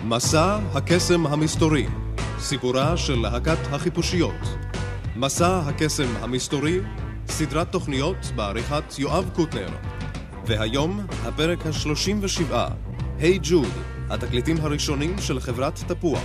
מסע הקסם המסתורי, סיפורה של להקת החיפושיות. מסע הקסם המסתורי, סדרת תוכניות בעריכת יואב קוטנר. והיום הפרק ה-37, היי ג'וד, התקליטים הראשונים של חברת תפוח.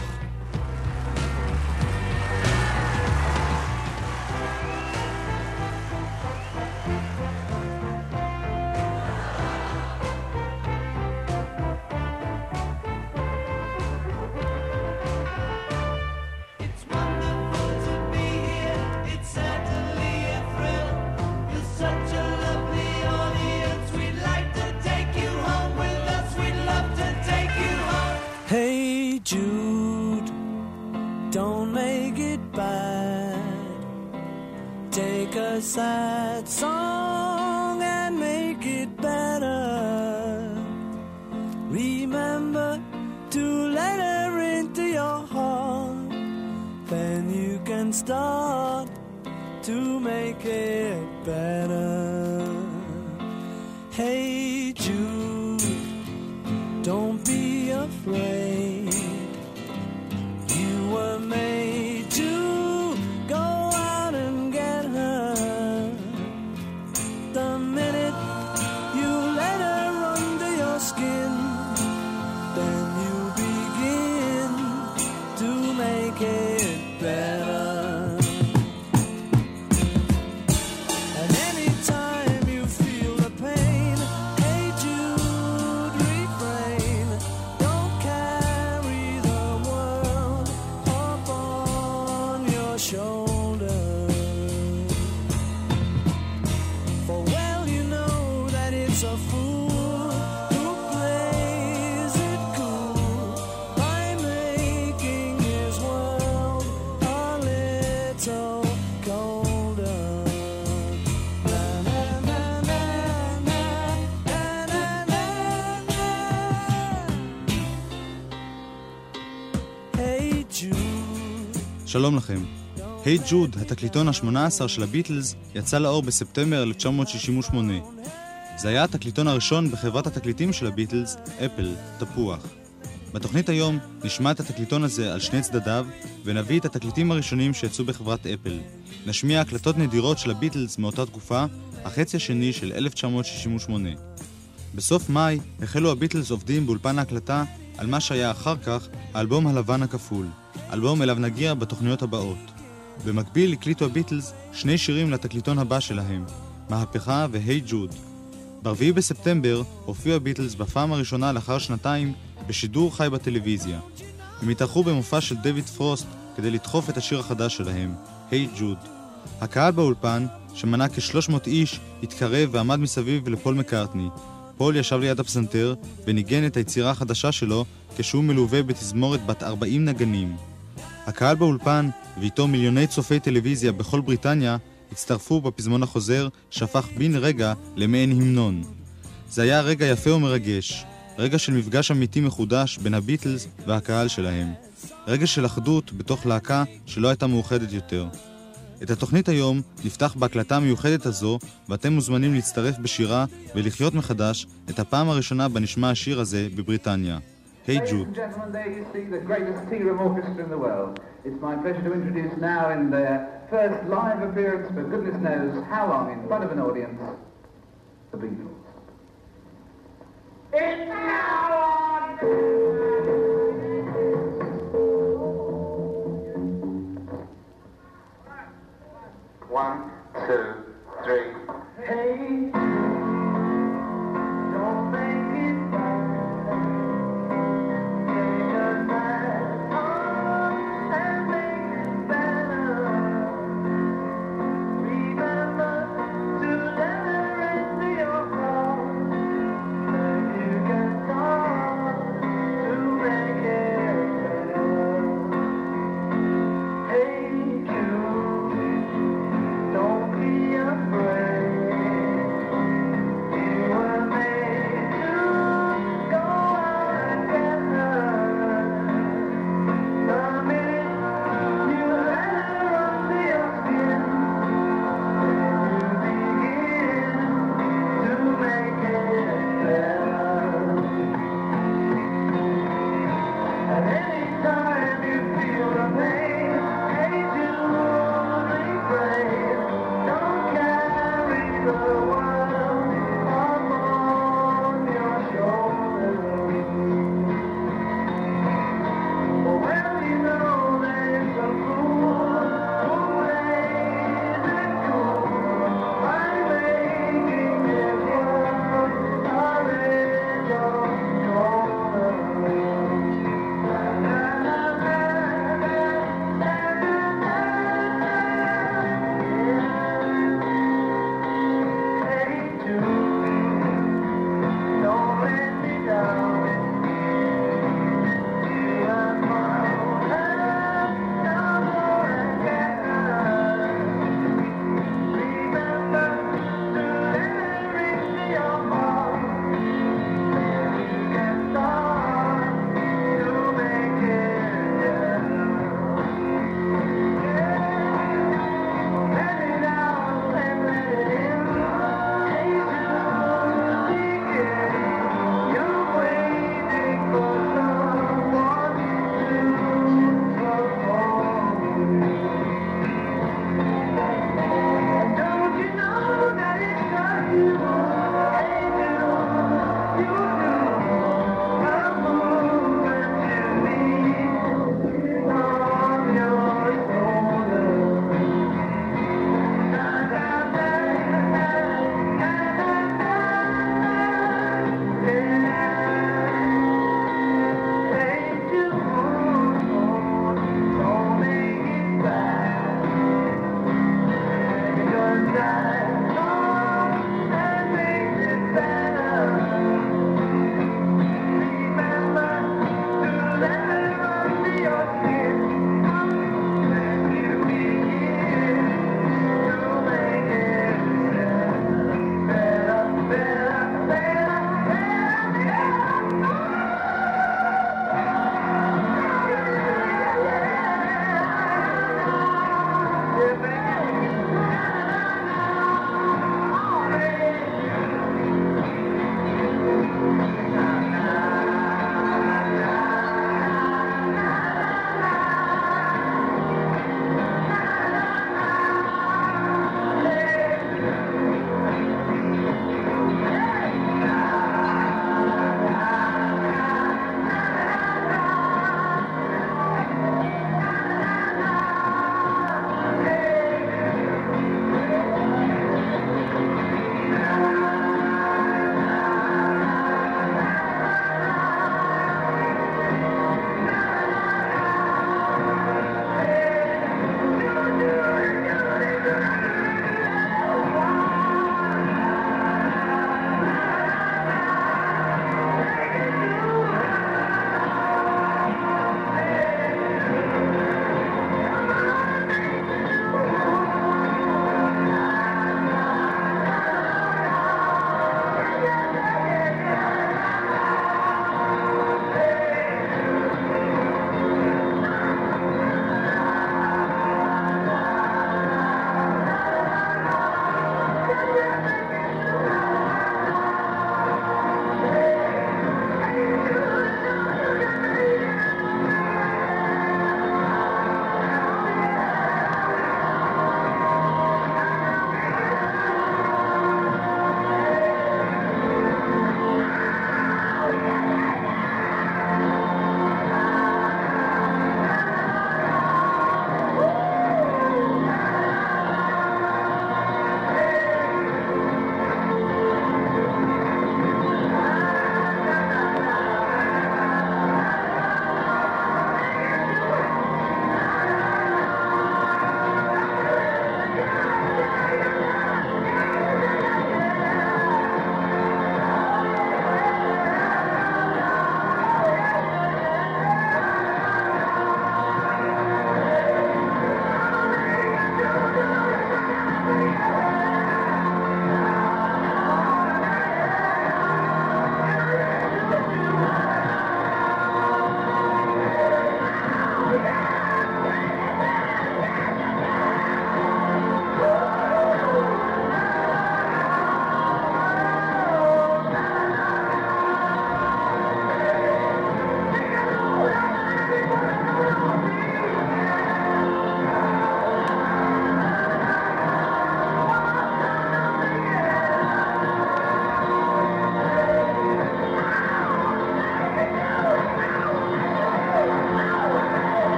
Sad song and make it better. Remember to let her into your heart. Then you can start to make it better. Hey Jude, don't be afraid. You were made to go out and get her. The minute you let her under your skin, then you begin to make it better. And anytime you feel the pain, hey Jude, refrain. Don't carry the world up on your shoulder. A fool who plays it cool by making his world a little colder. Na, na, na, na, na, na, na, na. Hey Jude. שלום לכם. היי ג'וד, התקליטון ה-18 של הביטלס, יצא לאור בספטמבר 1968. זה היה התקליטון הראשון בחברת התקליטים של הביטלס, אפל, תפוח. בתוכנית היום נשמע את התקליטון הזה על שני צדדיו, ונביא את התקליטים הראשונים שיצאו בחברת אפל. נשמיע הקלטות נדירות של הביטלס מאותה תקופה, החצי השני של 1968. בסוף מאי החלו הביטלס עובדים באולפן ההקלטה על מה שהיה אחר כך האלבום הלבן הכפול, אלבום אליו נגיע בתוכניות הבאות. במקביל הקליטו הביטלס שני שירים לתקליטון הבא שלהם, מהפכה והי ג'וד. ב-4 בספטמבר הופיעו הביטלס בפעם הראשונה לאחר שנתיים בשידור חי בטלוויזיה. הם התארחו במופע של דויד פרוסט כדי לדחוף את השיר החדש שלהם, היי ג'וד. הקהל באולפן, שמנה כ-300 איש, התקרב ועמד מסביב לפול מקארטני. פול ישב ליד הפסנתר וניגן את היצירה החדשה שלו כשהוא מלווה בתזמורת בת 40 נגנים. הקהל באולפן ואיתו מיליוני צופי טלוויזיה בכל בריטניה הצטרפו בפזמון החוזר שהפך בן רגע למעין המנון. זה היה רגע יפה ומרגש, רגע של מפגש אמיתי מחודש בין הביטלס והקהל שלהם. רגע של אחדות בתוך להקה שלא הייתה מאוחדת יותר. את התוכנית היום נפתח בהקלטה המיוחדת הזו, ואתם מוזמנים להצטרף בשירה ולחיות מחדש את הפעם הראשונה בנשמע השיר הזה בבריטניה. Hey Jude. Ladies and gentlemen, there you see the greatest tea room orchestra in the world. It's my pleasure to introduce now in their first live appearance for goodness knows how long in front of an audience, the Beatles. It's now on! 1, 2, 3. Hey!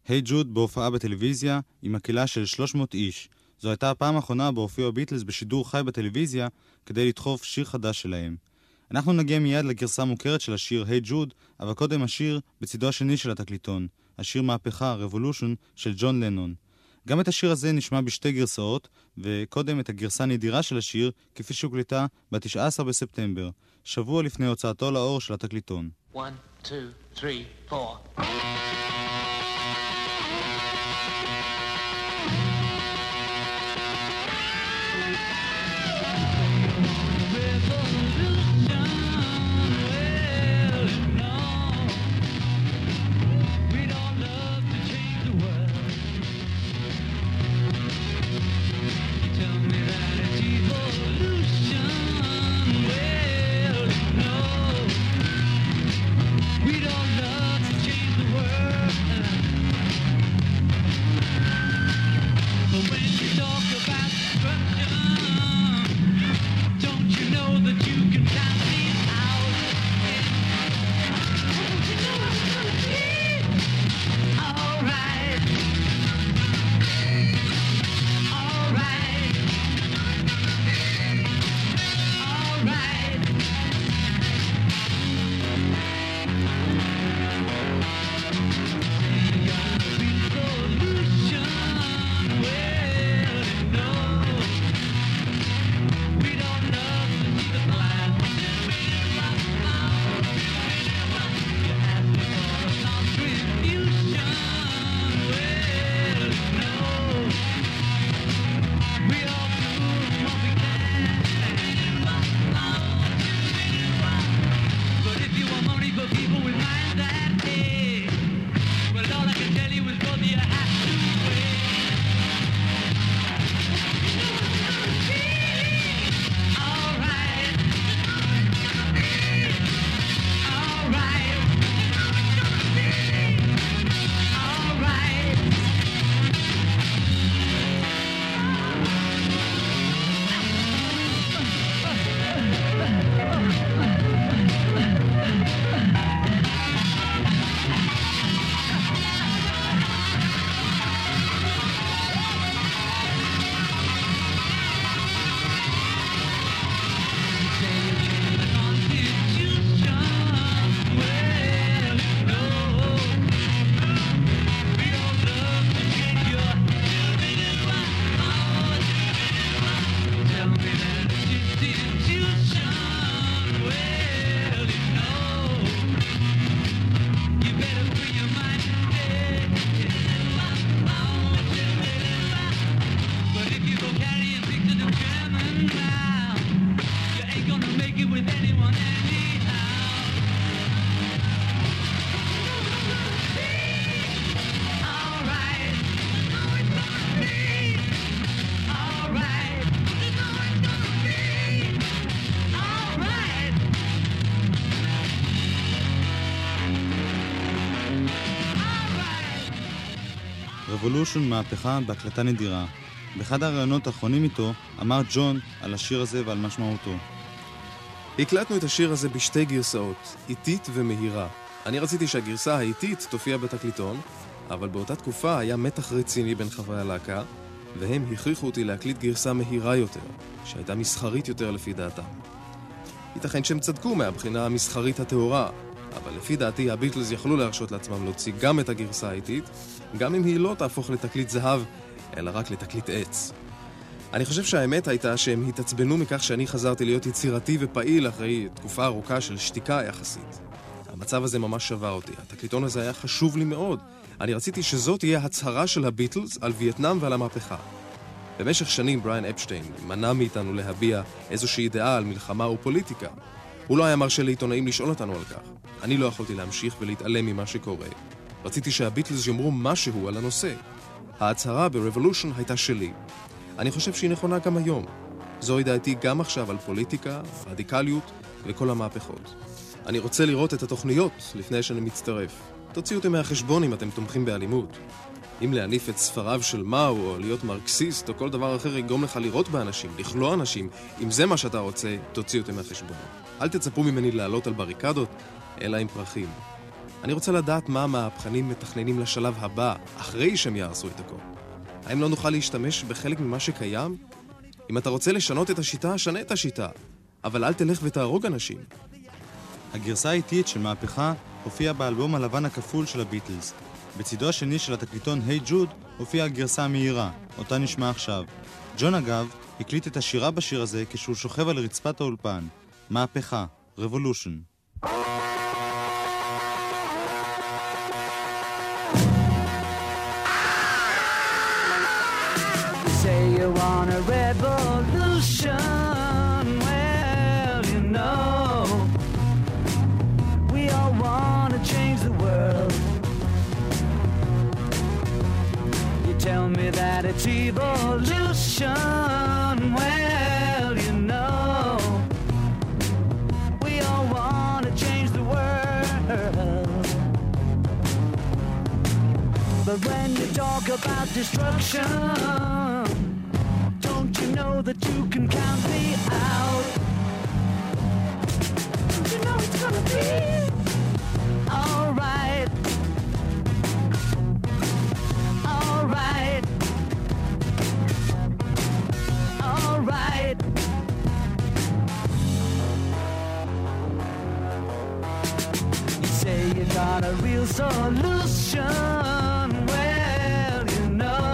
היי ג'וד בהופעה בטלוויזיה עם מקהלה של 300 איש. זו הייתה הפעם האחרונה בהופיעו הביטלס בשידור חי בטלוויזיה כדי לדחוף שיר חדש שלהם. אנחנו נגיע מיד לגרסה המוכרת של השיר היי ג'וד, אבל קודם השיר בצידו השני של התקליטון, השיר מהפכה, Revolution של ג'ון לנון. גם את השיר הזה נשמע בשתי גרסאות, וקודם את הגרסה הנדירה של השיר כפי שהוקלטה ב-19 בספטמבר, שבוע לפני הוצאתו לאור של התקליטון. 1, 2, 3, 4 Revolution מהפכה בהקלטה נדירה. באחד הראיונות האחרונים איתו אמר ג'ון על השיר הזה ועל משמעותו. הקלטנו את השיר הזה בשתי גרסאות, איטית ומהירה. אני רציתי שהגרסה האיטית תופיע בתקליטון, אבל באותה תקופה היה מתח רציני בין חברי הלהקה, והם הכריחו אותי להקליט גרסה מהירה יותר, שהייתה מסחרית יותר לפי דעתם. ייתכן שהם צדקו מהבחינה המסחרית הטהורה, אבל לפי דעתי הביטלס יכלו להרשות לעצמם להוציא גם את הגרסה האיטית, גם אם היא לא תהפוך לתקליט זהב, אלא רק לתקליט עץ. אני חושב שהאמת הייתה שהם התעצבנו מכך שאני חזרתי להיות יצירתי ופעיל אחרי תקופה ארוכה של שתיקה יחסית. המצב הזה ממש שבר אותי. התקליטון הזה היה חשוב לי מאוד. אני רציתי שזאת תהיה הצהרה של הביטלס על וייטנאם ועל המהפכה. במשך שנים בריאן אפשטיין מנע מאיתנו להביע איזושהי דעה על מלחמה או פוליטיקה. הוא לא היה מרשה לעיתונאים לשאול אותנו על כך. אני לא יכולתי להמשיך ולהתעלם ממה שקורה. רציתי שהביטלס יאמרו משהו על הנושא. ההצהרה ב-Revolution הייתה שלי. אני חושב שהיא נכונה גם היום. זוהי דעתי גם עכשיו על פוליטיקה, רדיקליות וכל המהפכות. אני רוצה לראות את התוכניות לפני שאני מצטרף. תוציאו אותי מהחשבון אם אתם תומכים באלימות. אם להניף את ספריו של מאו או להיות מרקסיסט או כל דבר אחר יגרום לך לראות באנשים, לכלוא אנשים, אם זה מה שאתה רוצה, תוציאו אותי מהחשבון. אל תצפו ממני לעלות על בריקדות, אלא עם פרחים. אני רוצה לדעת מה המהפכנים מתכננים לשלב הבא, אחרי שהם יעשו את הכל. האם לא נוכל להשתמש בחלק ממה שקיים? אם אתה רוצה לשנות את השיטה, שנה את השיטה. אבל אל תלך ותהרוג אנשים. הגרסה האיטית של מהפכה הופיעה באלבום הלבן הכפול של הביטלס. בצידו השני של התקליטון היי ג'וד הופיעה הגרסה המהירה, אותה נשמע עכשיו. ג'ון אגב הקליט את השירה בשיר הזה כשהוא שוכב על רצפת האולפן. מהפכה, Revolution. Say you want a revolution, well, you know, we all want to change the world. You tell me that it's evolution, well, you know, we all want to change the world. But when you talk about destruction, don't you know that you can count me out? Don't you know it's gonna be alright? Alright. Alright. You say you got a real solution. Well, you know,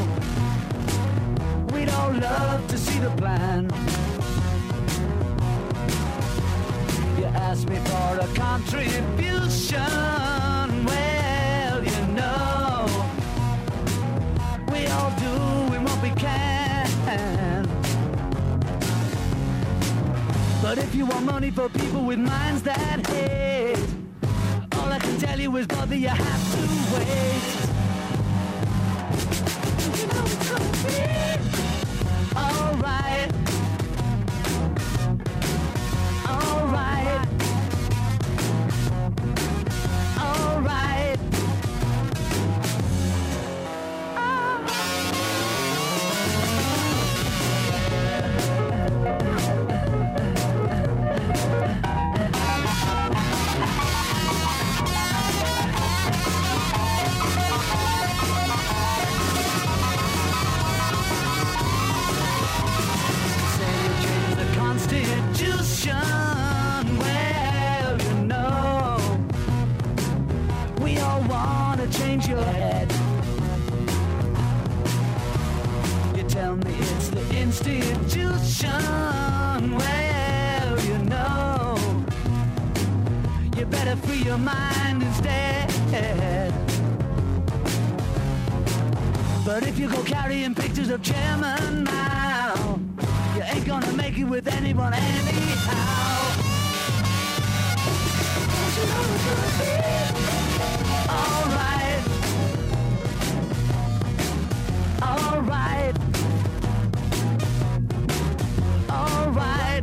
we'd all love to see the plan. You ask me for a contribution. Well, you know, we all doing what we can. But if you want money for people with minds that hate, all I can tell you is, brother, you have to wait. You know it's gonna be alright. Alright. Alright. Change your head. You tell me it's the institution. Well, you know, you better free your mind instead. But if you go carrying pictures of chairman now, you ain't gonna make it with anyone anyhow. Don't you know it's gonna be alright. Alright. Alright.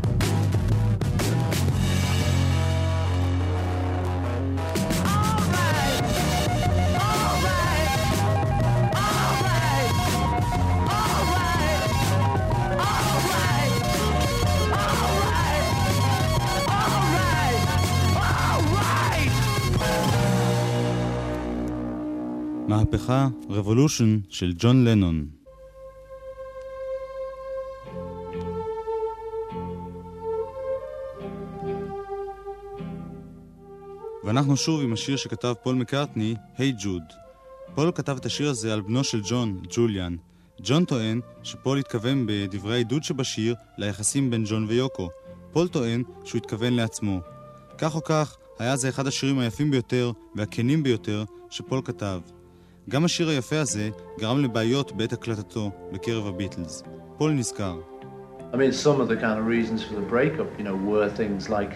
Alright. Alright. Alright. Alright. Alright. Alright. Alright. מהפכה, Revolution של ג'ון לנון. ואנחנו שוב עם השיר שכתב פול מקארטני, היי ג'וד. פול כתב את השיר הזה על בנו של ג'ון, ג'וליאן. ג'ון טוען שפול התכוון בדברי העידוד שבשיר ליחסים בין ג'ון ויוקו. פול טוען שהוא התכוון לעצמו. כך או כך, היה זה אחד השירים היפים ביותר והכנים ביותר שפול כתב. גם השיר היפה הזה גרם לבעיות בעת הקלטתו בקרב הביטלס. פול נזכר. I mean, some of the kind of reasons for the breakup, you know, were things like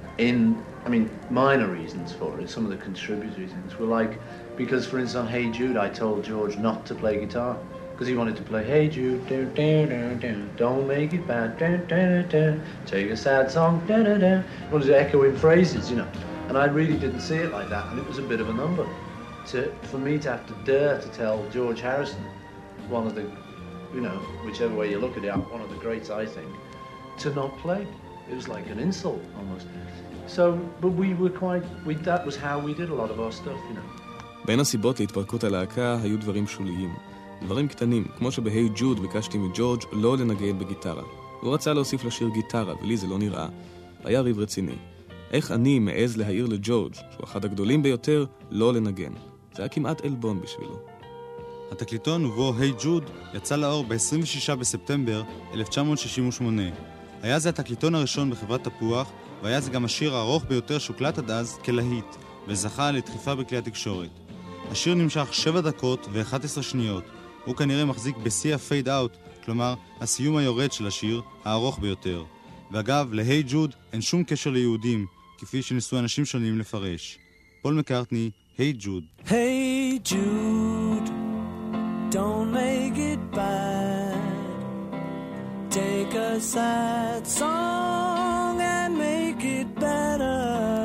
minor reasons for it. Some of the contributory things were like, because for instance on Hey Jude I told George not to play guitar because he wanted to play Hey Jude, don't make it bad, take a sad song, he wanted to echo in phrases, you know. And I really didn't see it like that, and it was a bit of a number. For me to have to dare to tell George Harrison, one of the, you know, whichever way you look at it, one of the greats I think, to not play. It was like an insult almost. So, but that was how we did a lot of our stuff, you know. בין הסיבות להתפרקות הלהקה היו דברים שוליים. דברים קטנים, כמו שבהי ג'וד ביקשתי מג'ורג' לא לנגן בגיטרה. הוא רצה להוסיף לשיר גיטרה, ולי זה לא נראה. היה ריב רציני. איך אני מעז להעיר לג'ורג', שהוא אחד הגדולים ביותר, לא לנגן. זה היה כמעט אלבון בשבילו. התקליטון ובו היי ג'וד יצא לאור ב-26 בספטמבר 1968. היה זה התקליטון הראשון בחברת תפוח, והיה זה גם השיר הארוך ביותר שהוקלט עד אז כלהיט, וזכה לדחיפה בכלי התקשורת. השיר נמשך 7 דקות ו-11 שניות. הוא כנראה מחזיק בשיא הפייד אאוט, כלומר הסיום היורד של השיר, הארוך ביותר. ואגב, להי ג'וד אין שום קשר ליהודים, כפי שניסו אנשים שונים לפרש. פול מקארטני, היי ג'וד. Hey Jude, don't make it bad. Take a sad song and make it better.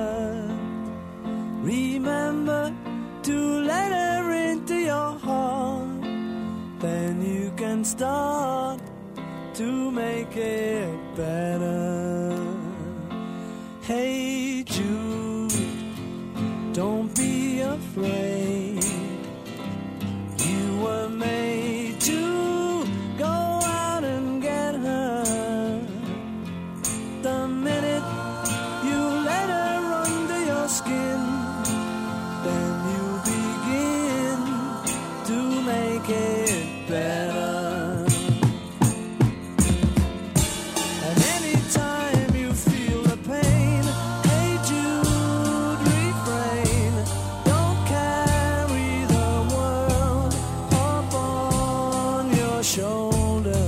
Remember to let her into your heart. Then you can start to make it better. Hey Jude, don't be afraid. You were made to go out and get her. The minute you let her under your skin, then you begin to make it better. And anytime you feel the pain, hey Jude, refrain. Don't carry the world upon your shoulder.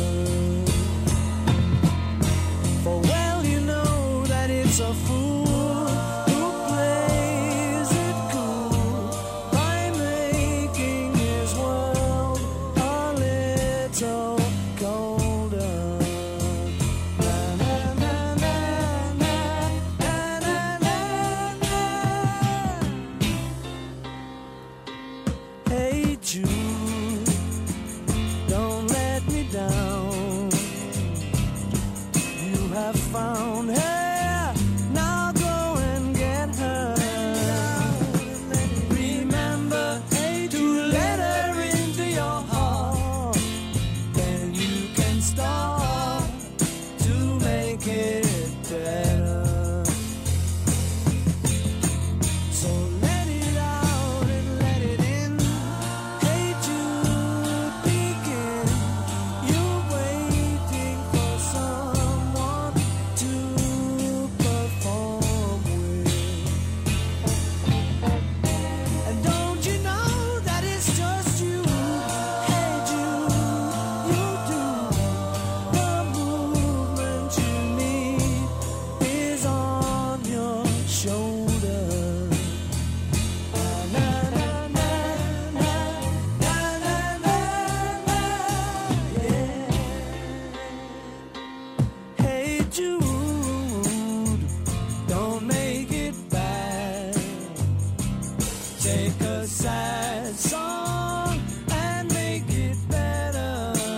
For well you know that it's a fool who plays it cool by making his world a little colder. Na na na na na na na na na. Hey Jude, don't let me down. You have found her, now go and get her. Remember to let her into your heart. Then you can start to make it better. So let it out and let it in. Hey Jude, begin. You're waiting for someone to perform with. And don't you know that it's just you? Hey Jude, you do. The movement you need is on your shoulder. Na na na na na na na na, yeah. Hey Jude, don't make it bad. Take a sad song and make it better.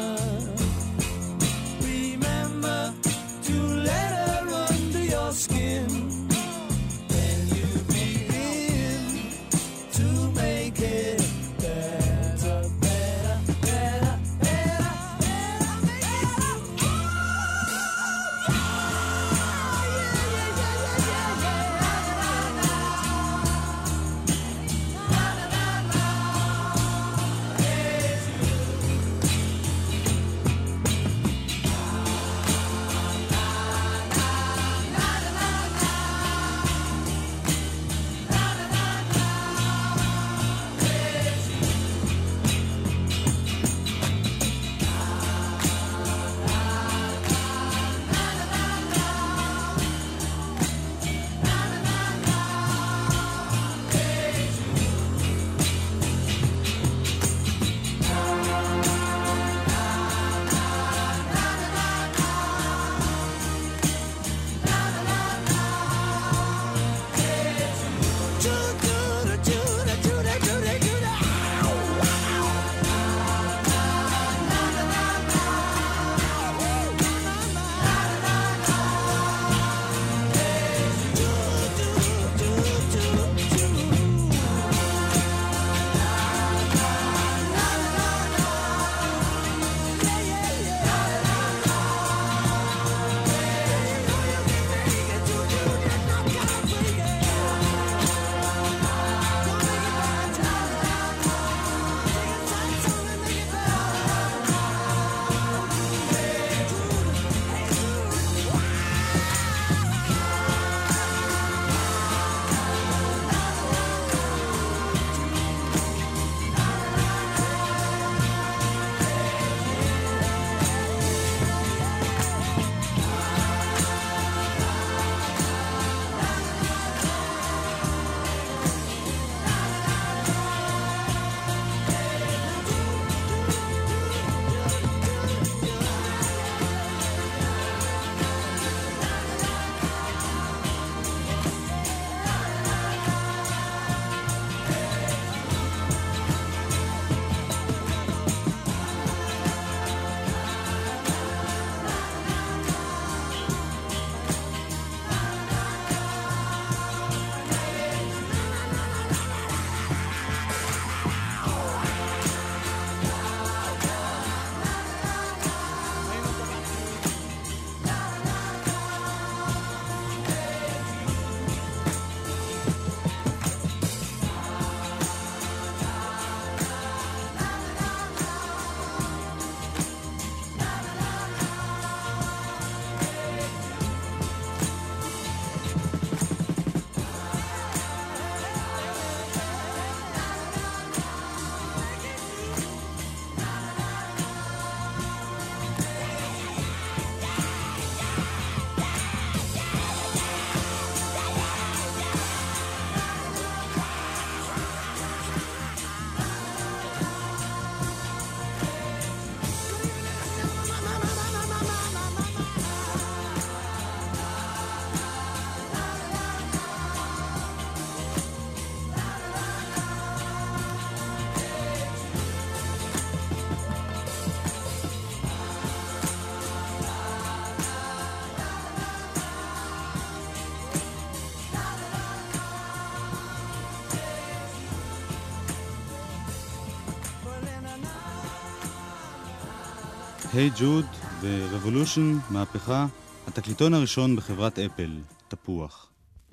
Remember to let her under your skin. Then you begin to make it better, better, better, better, better, better. היי ג'וד ורבולושן, מהפכה, התקליטון הראשון בחברת אפל, תפוח.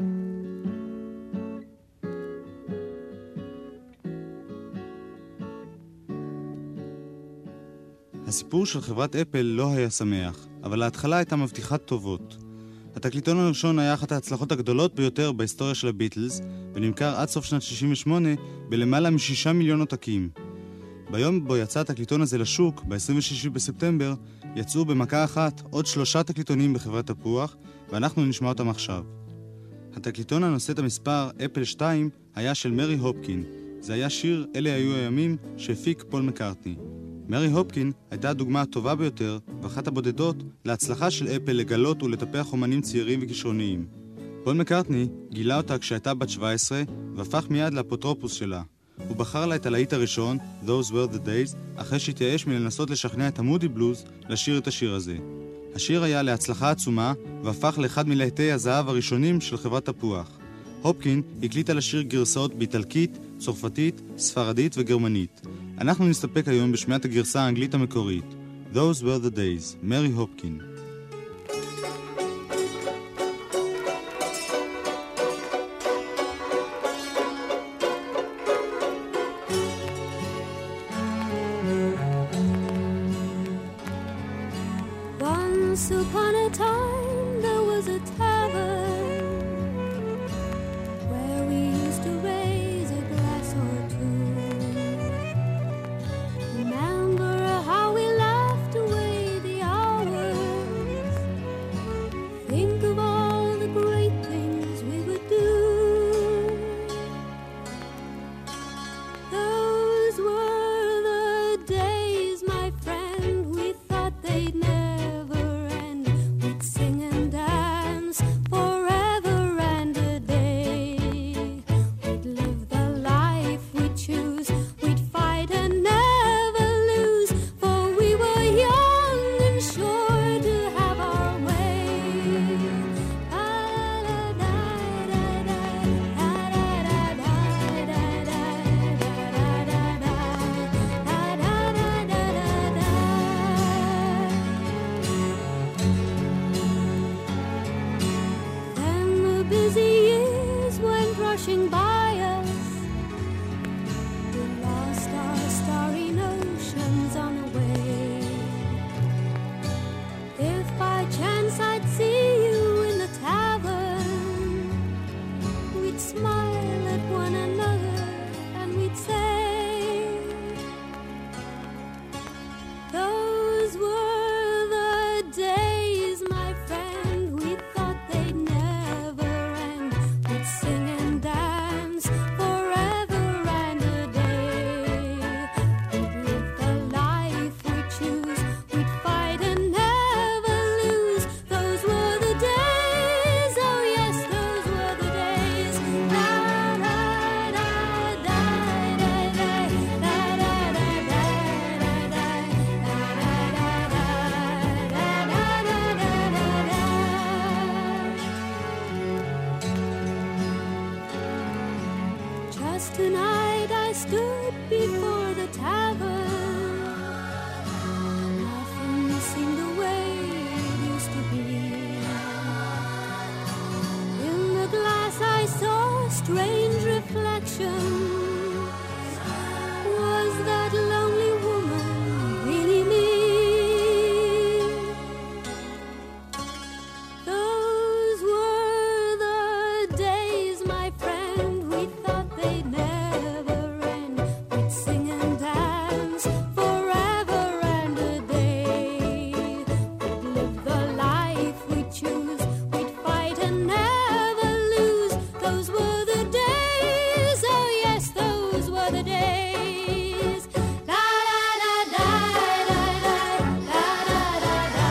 הסיפור של חברת אפל לא היה שמח, אבל ההתחלה הייתה מבטיחת טובות. התקליטון הראשון היה אחת ההצלחות הגדולות ביותר בהיסטוריה של הביטלס, ונמכר עד סוף שנת 68 בלמעלה מ6 מיליון עותקים. ביום בו יצא התקליטון הזה לשוק, ב-26 בספטמבר, יצאו במכה אחת עוד 3 תקליטונים בחברת תפוח, ואנחנו נשמע אותם עכשיו. התקליטון הנושא את המספר אפל 2 היה של מרי הופקין. זה היה שיר "אלה היו הימים" שהפיק פול מקארטני. מרי הופקין הייתה הדוגמה הטובה ביותר ואחת הבודדות להצלחה של אפל לגלות ולטפח אומנים צעירים וכישרוניים. פול מקארטני גילה אותה כשהייתה בת 17 והפך מיד לאפוטרופוס שלה. הוא בחר לה את הלהיט הראשון, Those Were the Days, אחרי שהתייאש מלנסות לשכנע את המודי בלוז לשיר את השיר הזה. השיר היה להצלחה עצומה והפך לאחד מלהיטי הזהב הראשונים של חברת תפוח. הופקין הקליטה לשיר גרסאות באיטלקית, צרפתית, ספרדית וגרמנית. אנחנו נסתפק היום בשמיעת הגרסה האנגלית המקורית. Those Were the Days, מרי הופקין. Once upon a time there was a tavern where we used to raise a glass or two. Remember how we laughed away the hours. Think of all the great things we would do. Those were the days, my friend, we thought they'd never. Tonight I stood before the tavern. Nothing seemed the way it used to be. In the glass I saw strange reflections. Was that lonely woman really me? Those were the days, my friend, we thought they'd never end. We'd sing and dance forever and a day. We'd live the life we choose. We'd fight and never lose. Those were the days, oh yes, those were the days. La la la la la la la la la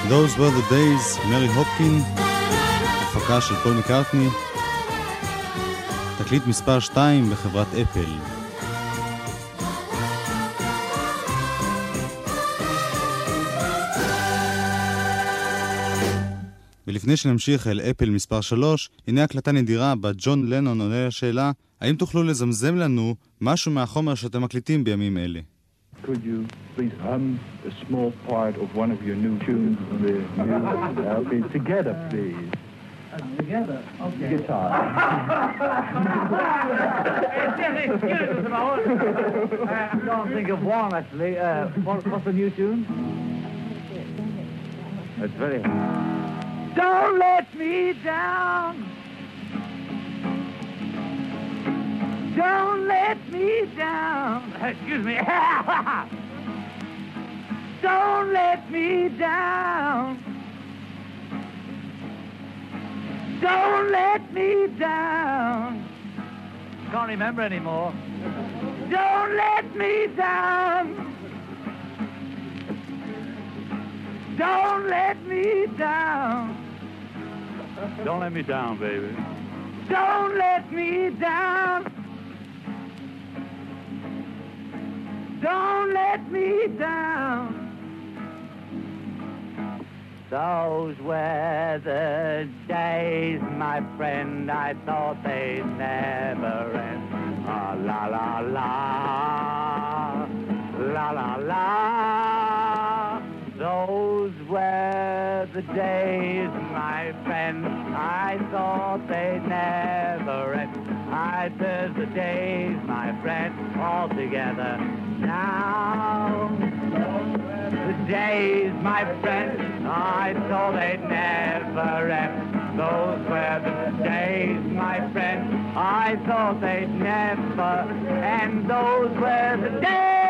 Those were the days, מרי הופקין, הפקה של פול מקארטני, תקליט מספר 2 בחברת אפל. ולפני שנמשיך אל אפל מספר 3, הנה הקלטה נדירה בה ג'ון לנון עונה לשאלה, האם תוכלו לזמזם לנו משהו מהחומר שאתם מקליטים בימים אלה? Could you please hum a small part of one of your new tunes? Okay, together, please. Together? Okay. Guitar. Excuse us a moment. I can't think of one, actually. What's the new tune? That's very hard. Don't let me down. Don't let me down. Excuse me. Don't let me down. Don't let me down. Can't remember anymore. Don't let me down. Don't let me down. Don't let me down, baby. Don't let me down. Don't let me down. Those were the days, my friend, I thought they'd never end. Ah, la la la, la la la. Those were the days, my friend, I thought they'd never end. I said the days, my friend, all together now. The days, my friend, I thought they'd never end. Those were the days, my friend, I thought they'd never end. Those were the days.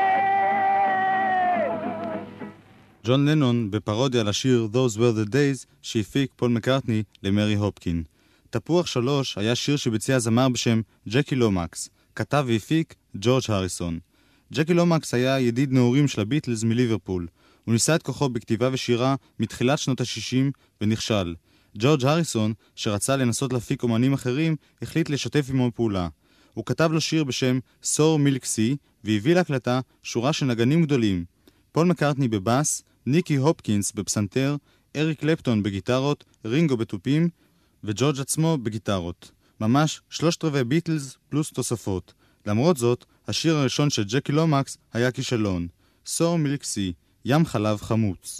ג'ון לנון בפרודיה לשיר Those Were the Days שהפיק פול מקארטני למרי הופקין. תפוח 3 היה שיר שביצע זמר בשם ג'קי לומקס, כתב והפיק ג'ורג' הריסון. ג'קי לומקס היה ידיד נעורים של הביטלס מליברפול. הוא ניסה את כוחו בכתיבה ושירה מתחילת שנות ה-60 ונכשל. ג'ורג' הריסון, שרצה לנסות להפיק אומנים אחרים, החליט לשתף עמו פעולה. הוא כתב לו שיר בשם סור מילק סי והביא להקלטה שורה של נגנים גדולים. פול מקארטני בבאס, ניקי הופקינס בפסנתר, אריק קלפטון בגיטרות, רינגו בטופים וג'ורג' עצמו בגיטרות. ממש 3/4 ביטלס פלוס תוספות. למרות זאת, השיר הראשון של ג'קי לומקס היה כישלון. סור מילק סי, ים חלב חמוץ.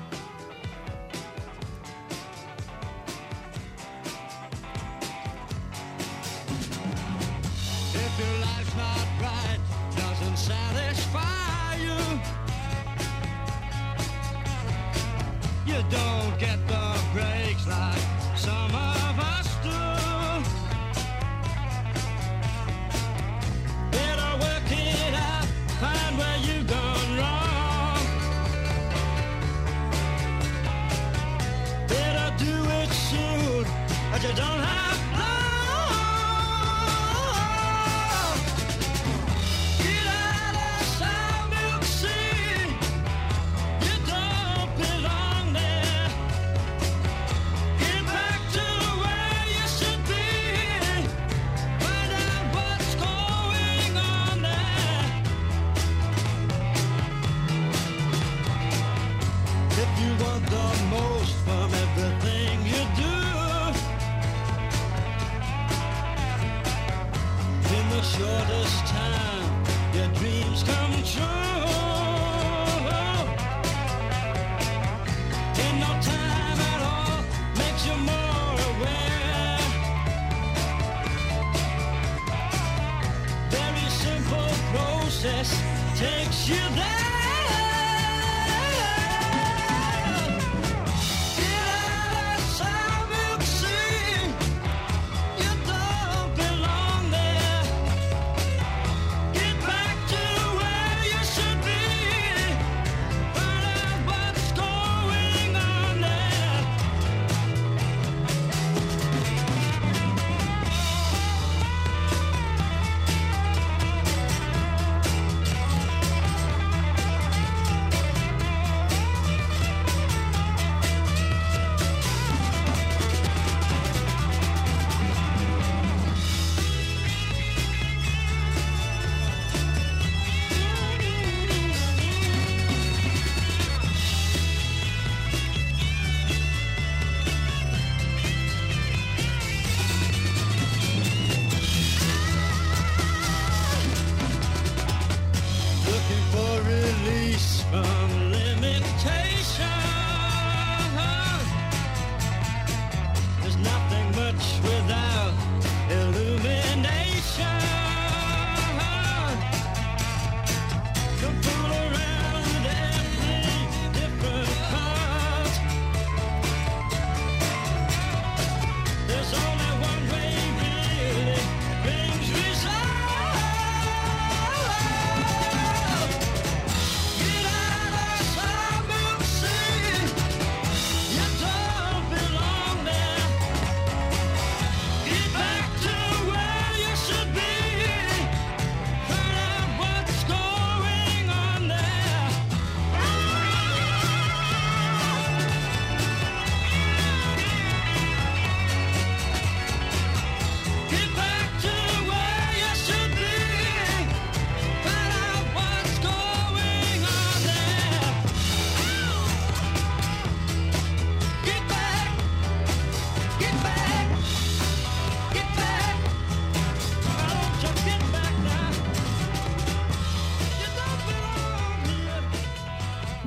You don't get the breaks like some of us do. Better work it out, find where you've gone wrong. Better do it soon, but you don't have long. Get out of South Milk Sea, you don't belong there. Get back to where you should be, find out what's going on there. If you want the most from everything you do, in the shortest time, your dreams come true. In no time at all, makes you more aware. Very simple process takes you there. Get out of South Milk Sea, you don't belong there. Get back to where you should be, find out what's going on there.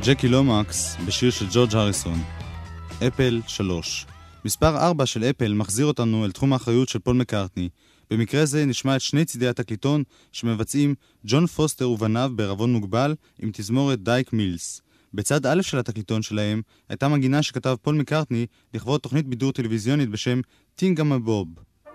ג'קי לומקס בשיר של ג'ורג' הריסון. אפל 3. מספר 4 של אפל מחזיר אותנו אל תחום האחריות של פול מקארטני. במקרה זה נשמע את שני צידי התקליטון שמבצעים ג'ון פוסטר ובניו בערבון מוגבל עם תזמורת דייק מילס. בצד א' של התקליטון שלהם הייתה מגינה שכתב פול מקארטני לכבוד תוכנית בידור טלוויזיונית בשם טינגמבוב.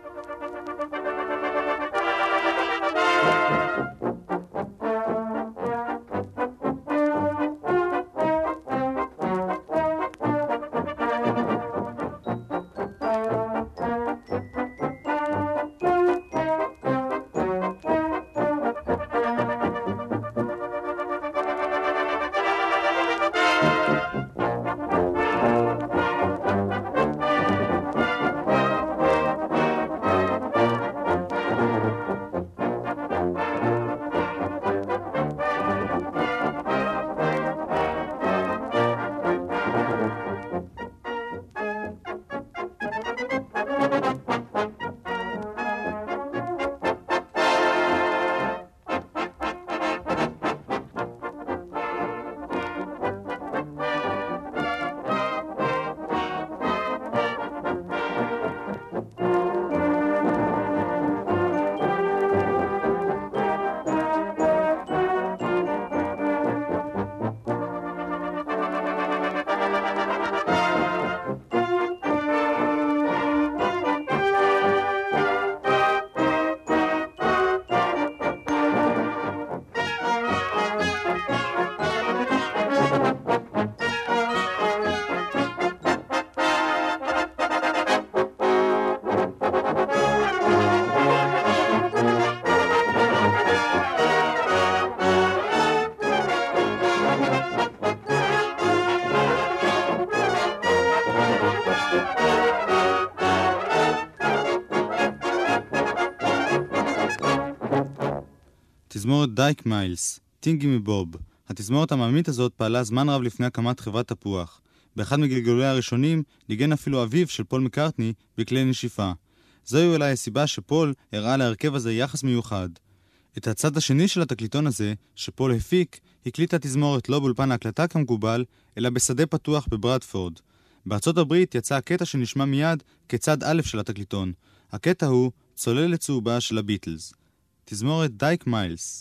תזמורת דייק מיילס, טינגי מבוב. התזמורת המאמית הזאת פעלה זמן רב לפני הקמת חברת תפוח. באחד מגלגוליה הראשונים ניגן אפילו אביו של פול מקארטני בכלי נשיפה. זוהי אולי הסיבה שפול הראה להרכב הזה יחס מיוחד. את הצד השני של התקליטון הזה, שפול הפיק, הקליט התזמורת לא באולפן ההקלטה כמקובל, אלא בשדה פתוח בברדפורד. בארצות הברית יצא הקטע שנשמע מיד כצד א' של התקליטון. הקטע הוא צוללת צהובה של הביטלס. תזמורת דייק מיילס.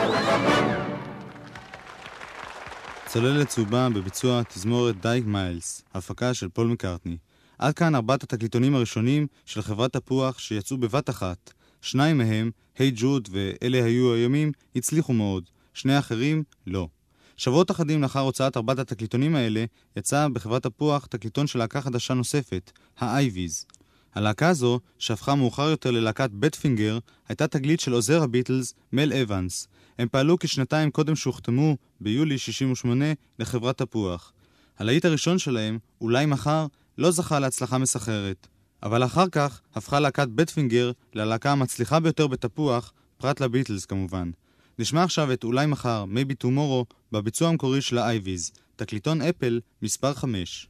צוללת צהובה בביצוע תזמורת דייק מיילס, הפקה של פול מקארטני. עד כאן 4 התקליטונים הראשונים של חברת תפוח שיצאו בבת אחת. 2 מהם, היי ג'וד ואלה היו הימים, הצליחו מאוד. 2 האחרים, לא. שבועות אחדים לאחר הוצאת 4 התקליטונים האלה, יצא בחברת תפוח תקליטון של להקה חדשה נוספת, האייביז. הלהקה הזו, שהפכה מאוחר יותר ללהקת בטפינגר, הייתה תגלית של עוזר הביטלס, מל אבנס. הם פעלו כשנתיים קודם שהוחתמו, ביולי 68, לחברת תפוח. הלהיט הראשון שלהם, אולי מחר, לא זכה להצלחה מסחררת. אבל אחר כך הפכה להקת בטפינגר ללהקה המצליחה ביותר בתפוח, פרט לביטלס כמובן. נשמע עכשיו את אולי מחר, Maybe Tomorrow, בביצוע המקורי של האייביז, תקליטון אפל מספר 5.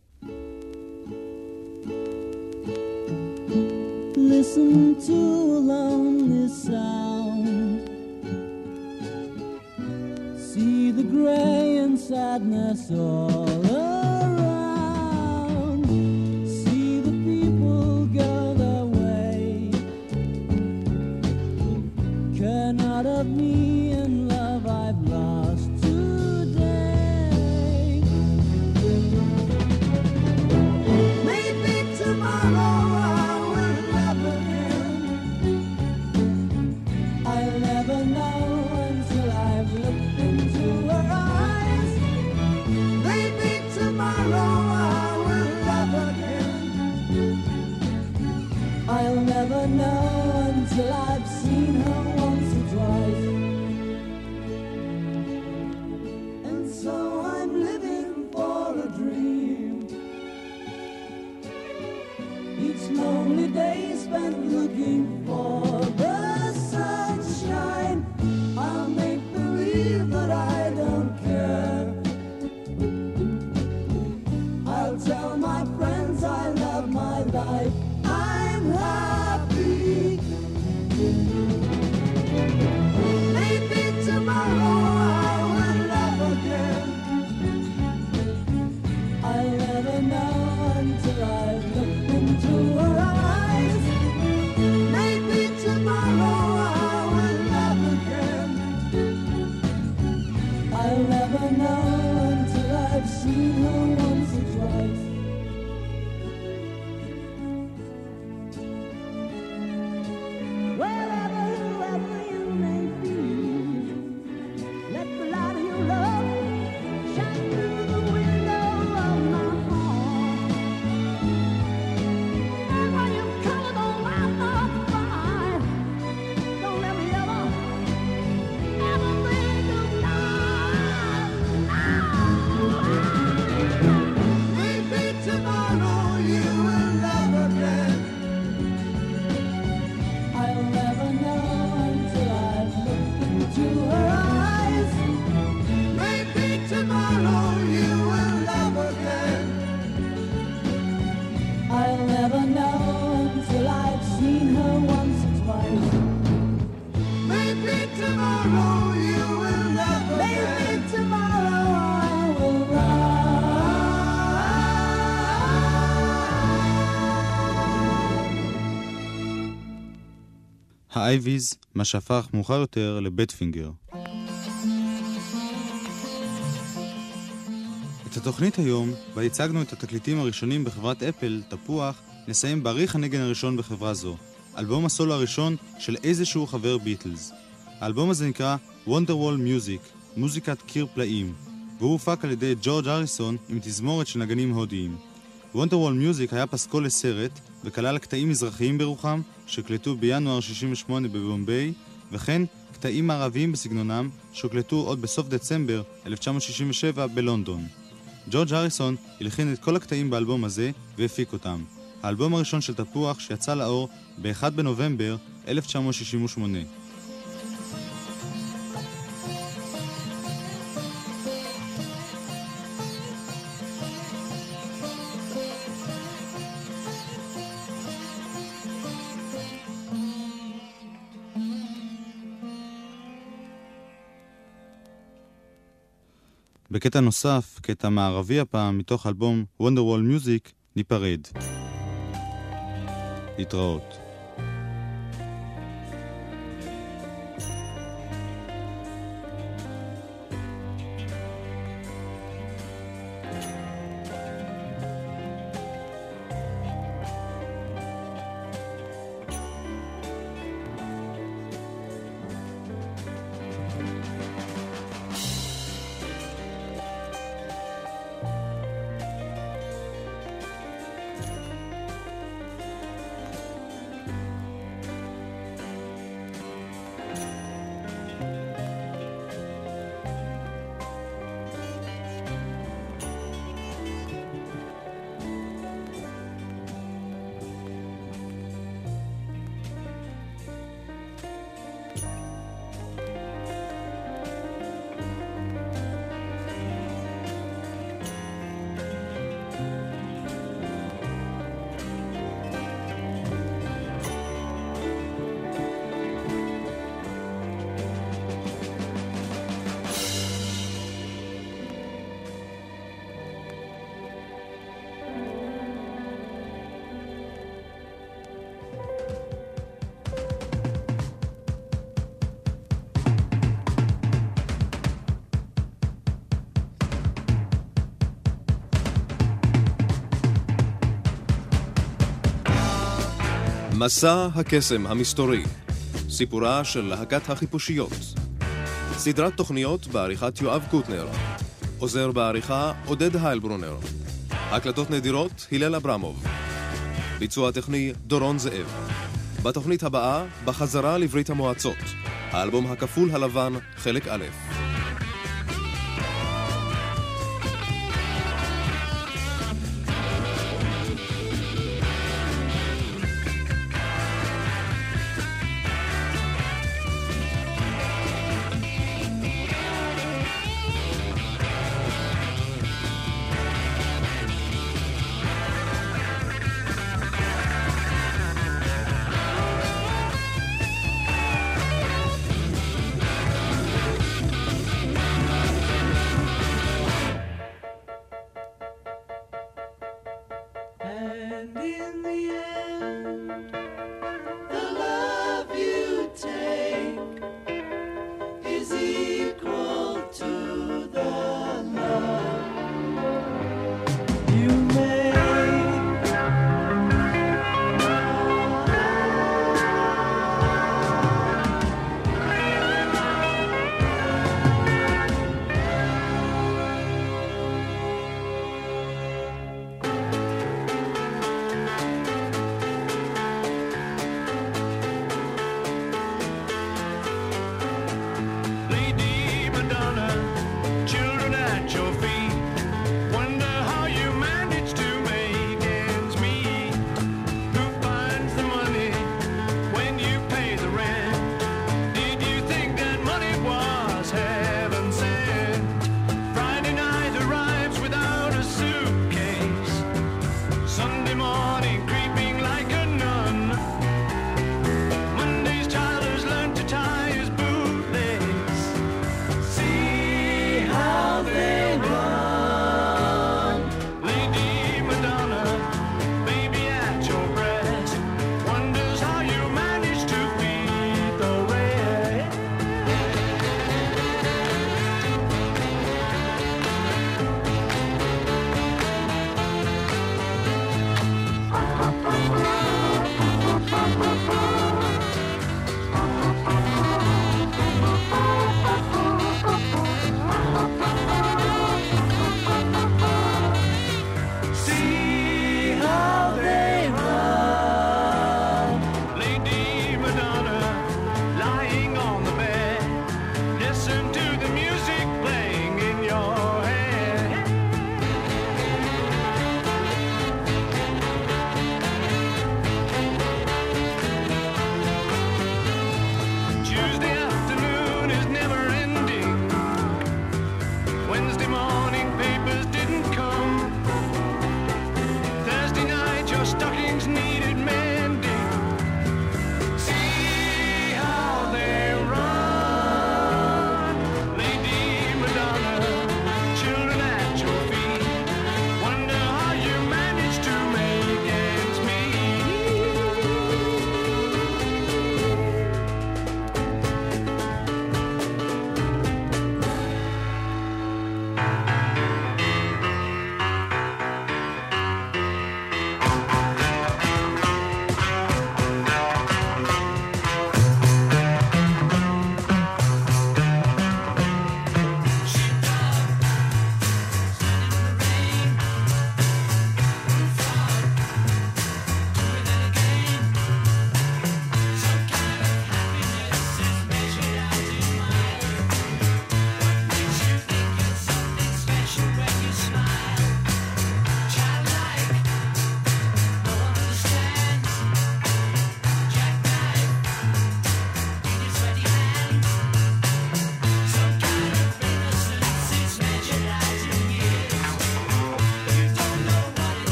Listen to a lonely sound. See the gray and sadness all around. See the people go their way. Care not of me and love I've lost today. Maybe tomorrow I'll never know until I've seen her once or twice. And so I'm living for a dream. Each lonely day spent looking for the sunshine. I'll make believe that I don't care. I'll tell my friends I love my life. Happy. Maybe tomorrow I will love again. I'll never know until I look into her eyes. Maybe tomorrow I will love again. I'll never know until I've seen her once or twice. האייביז, מה שהפך מאוחר יותר לבטפינגר. את התוכנית היום, בה הצגנו את התקליטים הראשונים בחברת אפל, תפוח, נסיים בעריך הנגן הראשון בחברה זו, אלבום הסולו הראשון של איזשהו חבר ביטלס. האלבום הזה נקרא Wonderwall Music, מוזיקת קיר פלאים, והוא הופק על ידי ג'ורג' אריסון עם תזמורת של נגנים הודיים. Wonderwall Music היה פסקול לסרט וכלל קטעים מזרחיים ברוחם שקלטו בינואר 68 בבומביי, וכן קטעים מערביים בסגנונם שהוקלטו עוד בסוף דצמבר 1967 בלונדון. ג'ורג' אריסון הלחין את כל הקטעים באלבום הזה והפיק אותם. האלבום הראשון של תפוח שיצא לאור ב-1 בנובמבר 1968. בקטע נוסף, קטע מערבי הפעם, מתוך אלבום Wonderwall Music, ניפרד. להתראות. מסע הקסם המסתורי, סיפורה של להקת החיפושיות. סדרת תוכניות בעריכת יואב קוטנר. עוזר בעריכה עודד היילברונר. הקלטות נדירות הלל אברמוב. ביצוע טכני דורון זאב. בתוכנית הבאה, בחזרה לברית המועצות. האלבום הכפול הלבן, חלק א'.